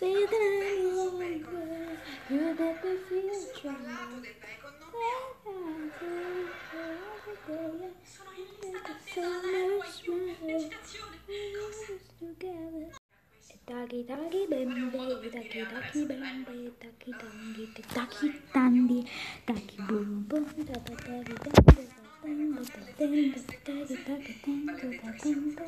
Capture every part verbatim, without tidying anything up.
You make me feel strong. Taki taki bambi, taki taki bambi, taki tangi, taki tandi, taki boom boom, taki taki tango, tango, tango, taki taki tango, tango,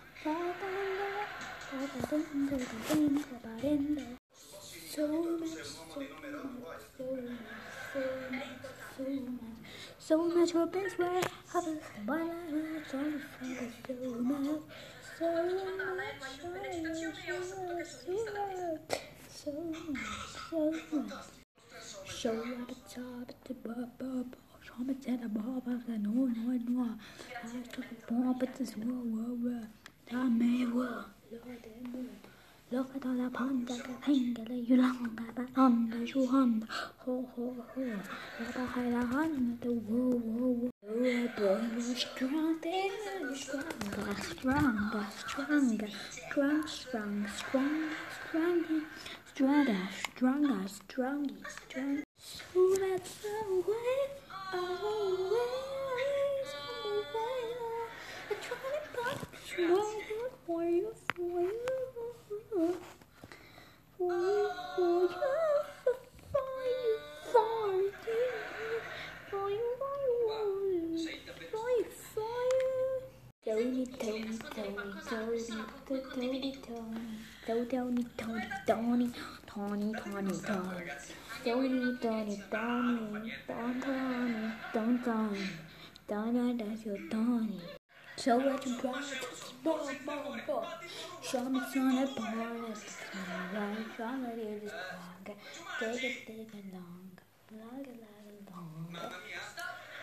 tango, tango, tango, so much, so much, so much, so much, so much for best where I was, but I was so much, so much. So much, so much, so much, so much. Show up at the top at the bub, show me at the bob of the no, no, no. I took a bomb at this whoa, whoa, whoa. I may well, Lord, look at all the pond that I think that you long about on the shoe on. Ho, ho, ho. Look behind the hand, the whoa, whoa, whoa. Oh, boy, you're strong, you're stronger, stronger, stronger, strong, strong, strong, stronger, stronger, stronger, stronger, strong. So that's away, away, away. I try to pop, swallow for you, for you, for you, for you, for you, for you, for you, for you, for you. Tony, Tony, Tony, Tony, Tony, Tony, Tony, Tony, Tony, Tony, Tony, Tony, Tony. Tony, Tony, Tony, Tony, Tony, Tony, Tony, that's your Tony. So what you got? Boom, boom, boom. Show me some of the bonus. Show me this longer. Take it, take it longer. Longer, longer, longer.